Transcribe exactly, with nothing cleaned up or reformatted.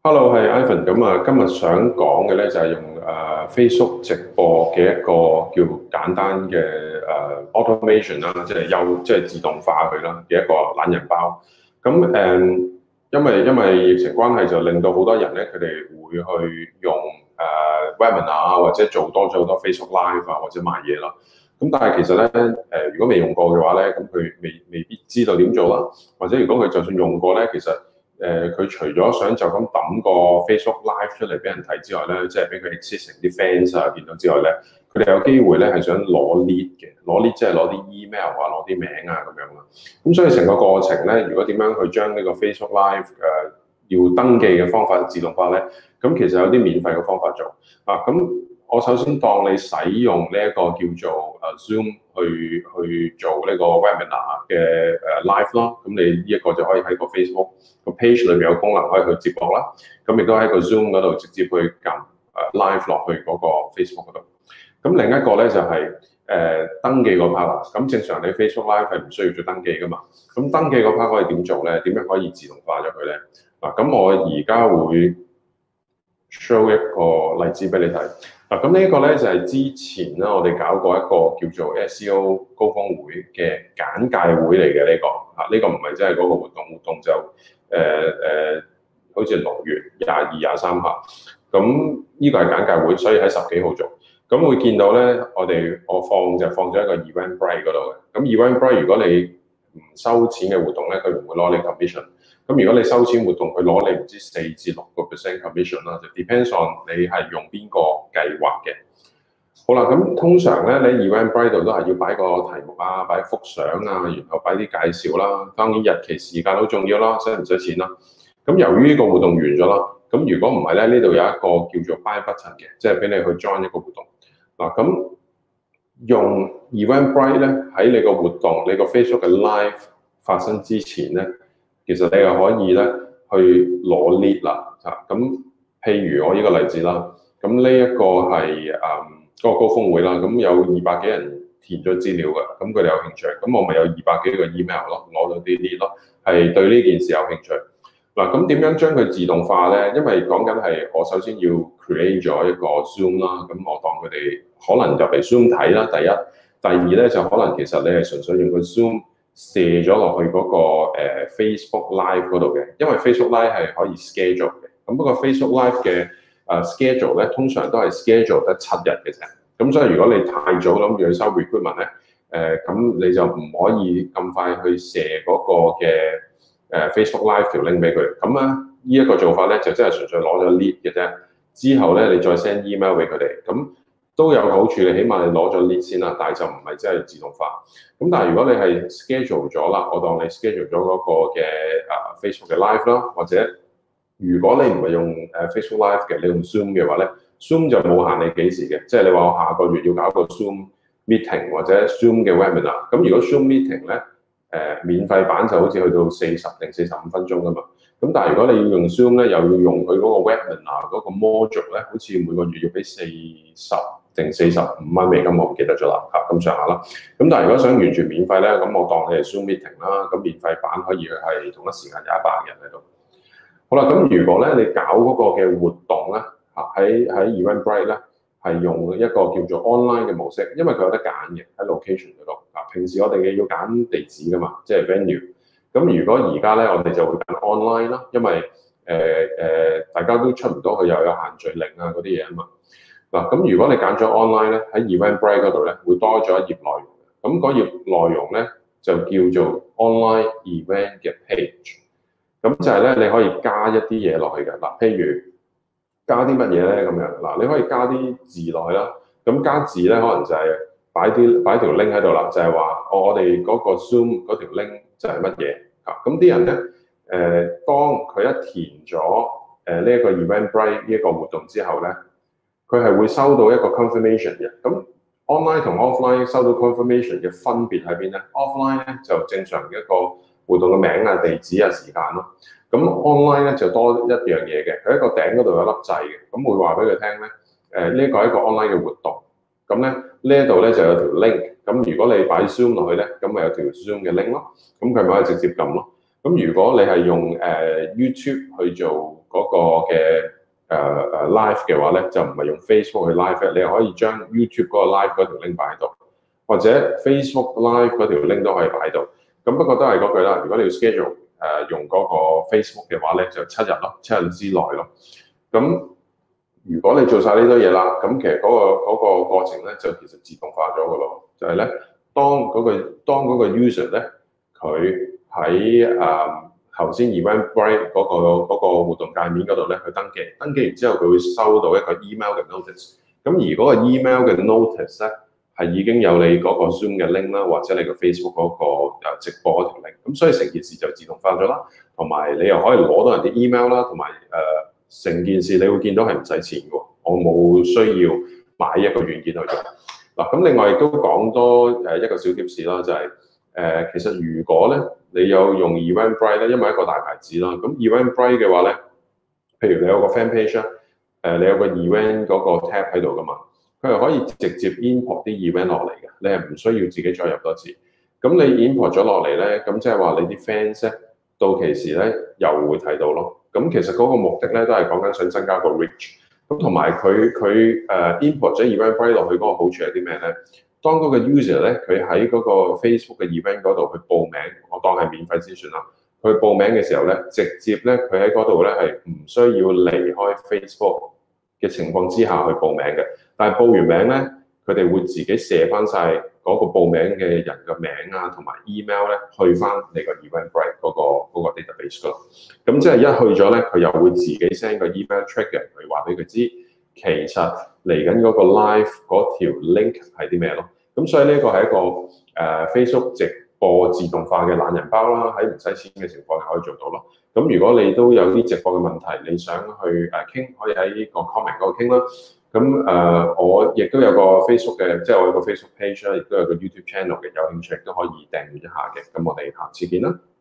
Hello，係 Ivan。咁啊，今日想講嘅咧就係用誒、呃 Facebook 直播嘅一個叫簡單嘅誒、呃 automation 啦，即係優即係自動化佢啦嘅一個懶人包。咁誒、嗯因為因為疫情關係，就令到好多人咧，佢哋會去用誒、呃 webinar 啊，或者做多咗好多 Facebook Live 啊，或者賣嘢啦。咁但係其實咧誒、呃如果未用過嘅話咧，咁佢未未必知道點做啦。或者如果佢就算用過咧，其實誒佢、呃除咗想就咁抌個 Facebook Live 出嚟俾人睇之外咧，即係俾佢 existing 啲 fans 啊見到之外咧，佢哋有機會咧係想攞 lead 嘅，攞 lead 即係攞啲 email 啊，攞啲名啊咁樣啦。咁所以成個過程咧，如果點樣去將呢個 Facebook Live 誒、呃、要登記嘅方法自動化咧，咁其實有啲免費嘅方法做啊。咁我首先當你使用呢一個叫做誒 Zoom 去去做呢個 webinar 嘅誒 live 啦，咁你呢一個就可以喺個 Facebook 個 page 裏邊有功能可以去接駁啦，咁亦都喺個 Zoom 嗰度直接去撳誒 live 落去嗰個 Facebook 嗰度。咁另一個咧就係、是、誒、呃、登記嗰 part 啦。咁正常你 Facebook Live 係唔需要做登記噶嘛。咁登記嗰 part 可以點做咧？點樣可以自動化咗佢咧？嗱，咁我而家會 show 一個例子俾你睇。嗱，咁呢一個咧就係、是、之前啦，我哋搞過一個叫做 S E O 高峰會嘅簡介會嚟嘅呢個。啊，呢、這個唔係真係嗰個活動，活動就誒誒、呃呃，好似六月廿二、廿三號。咁呢個係簡介會，所以喺十幾號做。咁會見到咧，我哋我放就放咗一個 Eventbrite 嗰度嘅。咁 Eventbrite 如果你唔收錢嘅活動咧，佢唔會攞你 commission。咁如果你收錢活動，佢攞你唔知四至六個 percent commission 啦，就 depends on 你係用邊個計劃嘅。好啦，咁通常咧，你 Eventbrite 度都係要擺個題目啊，擺幅相啊，然後擺啲介紹啦。當然日期時間好重要啦，使唔使錢啦？咁由於呢個活動完咗啦，咁如果唔係咧，呢度有一個叫做 buy button 嘅，即係俾你去 join 一個活動。嗱，咁用 Eventbrite 咧喺你個活動、你個 Facebook 嘅 live 發生之前咧，其實你又可以咧去攞 lead 啦。嚇，咁譬如我呢個例子啦，咁呢一個係誒嗰個高峰會啦，咁有二百幾人填咗資料嘅，咁佢哋有興趣，咁我咪有二百幾個 email 咯，攞到啲 lead 咯，係對呢件事有興趣。嗱，咁點樣將佢自動化咧？因為講緊係我首先要 create 咗一個 Zoom 啦，咁我當佢哋可能入嚟 Zoom 睇啦，第一，第二咧就可能其實你係純粹用個 Zoom 射咗落去嗰個 Facebook Live 嗰度嘅，因為 Facebook Live 係可以 schedule 嘅，咁不過 Facebook Live 嘅誒 schedule 咧通常都係 schedule 得七日嘅啫，咁所以如果你太早諗住去收 recruitment 咧，誒、呃、咁你就唔可以咁快去射嗰個嘅。誒 Facebook Live 條 link 俾佢，咁啊呢一個做法咧就真係純粹攞咗 lead 嘅啫，之後咧你再 send email 俾佢哋，咁都有好處，你起碼你攞咗 lead 先啦，但係就唔係真係自動化。咁但係如果你係 schedule 咗啦，我當你 schedule 咗嗰個嘅啊 Facebook 嘅 live 啦，或者如果你唔係用誒 Facebook Live 嘅，你用 Zoom 嘅話咧 ，Zoom 就冇限你幾時嘅，即係你話我下個月要搞個 Zoom meeting 或者 Zoom 嘅 webinar，咁如果 Zoom meeting 咧，誒、呃、免費版就好似去到四十定四十五分鐘㗎嘛，咁但係如果你要用 Zoom 咧，又要用佢嗰個 webinar 嗰個 module 咧，好似每個月要俾四十定四十五蚊美金，我唔記得咗啦，嚇咁上下啦。咁但係如果想完全免費咧，咁我當你係 Zoom meeting 啦，咁免費版可以係同一時間有一百人喺度。好啦，咁如果咧你搞嗰個嘅活動咧，嚇喺喺 Eventbrite 咧。係用一個叫做 online 嘅模式，因為佢有得揀嘅喺 location 嗰度。啊，平時我哋嘅要揀地址噶嘛，即係 venue。咁如果而家咧，我哋就會揀 online 啦，因為誒誒、呃呃、大家都出唔到去，又有限聚令啊嗰啲嘢啊嘛。嗱，咁如果你揀咗 online 咧，喺 Eventbrite 嗰度咧，會多咗一頁內容。咁嗰頁內容咧就叫做 online event 嘅 page。咁就係咧，你可以加一啲嘢落去嘅。嗱，譬如加啲乜嘢咧咁樣嗱，你可以加啲字落去啦。咁加字咧，可能就係擺啲擺條 link 喺度啦，就係話我哋嗰個 Zoom 嗰條 link 就係乜嘢啊？咁啲人咧誒、呃，當佢一填咗誒呢一個 Eventbrite 呢一個活動之後咧，佢係會收到一個 confirmation 嘅。咁 online 同 offline 收到 confirmation 嘅分別喺邊咧 ？offline 咧就正常嘅一個活動嘅名啊、地址啊、時間咯。咁 online 咧就多一樣嘢嘅，佢喺個頂嗰度有粒掣嘅，咁會話俾佢聽咧，誒呢個係一個 online 嘅活動，咁咧呢一度咧就有條 link，咁如果你擺 Zoom 落去咧，咁咪有條 Zoom 嘅 link 咯，咁佢咪可以直接撳咯。咁如果你係用誒 YouTube 去做嗰嗰個嘅誒誒 live 嘅話咧，就唔係用 Facebook 去 live，你可以將 YouTube 嗰個 live 嗰條 link 擺喺度，或者 Facebook live 嗰條 link 都可以擺喺度。咁不過都係嗰句啦，如果你要 schedule 誒、呃、用嗰個 Facebook 嘅話咧，就七日咯，七日之內咯。咁如果你做晒呢堆嘢啦，咁其實嗰、那個嗰、那個過程咧就其實自動化咗嘅咯，就係、是、咧當嗰、那個當嗰個 user 咧佢喺誒頭先 Eventbrite 嗰、那個嗰、那個活動界面嗰度咧去登記，登記完之後佢會收到一個 email 嘅 notice， 咁而嗰個 email 嘅 notice 咧係已經有你嗰個 Zoom 嘅 link 啦，或者你個 Facebook 嗰個誒直播嗰條 link，咁所以成件事就自動化咗啦，同埋你又可以攞到人啲 email 啦，同埋誒成件事你會見到係唔使錢嘅，我冇需要買一個軟件去做。嗱，咁另外亦都講多誒一個小貼士啦，就係、是、誒、呃、其實如果咧你有用 Eventbrite 咧，因為一個大牌子啦，咁 Eventbrite 嘅話咧，譬如你有個 fan page 啦，誒你有個 event 嗰個 tab 喺度噶嘛，佢係可以直接 import 啲 event 落嚟嘅，你係唔需要自己再入多次。咁你 import 咗落嚟咧，咁即係話你啲 fans 咧到期時咧又會睇到咯。咁其實嗰個目的咧都係講緊想增加個 reach。咁同埋佢佢誒 import 咗 Eventbrite 落去嗰個好處係啲咩咧？當嗰個 user 咧佢喺嗰個 Facebook 嘅 event 嗰度去報名，我當係免費先算啦。佢報名嘅時候咧，直接咧佢喺嗰度咧係唔需要離開 Facebook 嘅情況之下去報名嘅。但係報完名咧，佢哋會自己射翻晒嗰個報名嘅人嘅名啊，同埋 email 咧去翻你個 Eventbrite 嗰個嗰個 database 嗰度。咁即係一去咗咧，佢又會自己 send 個 email trigger 去話俾佢知，其實嚟緊嗰個 live 嗰條 link 係啲咩咯。咁所以呢個係一個誒、呃、Facebook 直播自動化嘅懶人包啦，喺唔使錢嘅情況下可以做到咯。咁如果你都有啲直播嘅問題，你想去誒傾，可以喺個 comment 嗰度傾啦。咁誒、呃，我亦都有個 Facebook 嘅，即係我有個 Facebook page 啦，亦都有個 YouTube channel 嘅，有興趣都可以訂閱一下嘅。咁我哋下次見啦。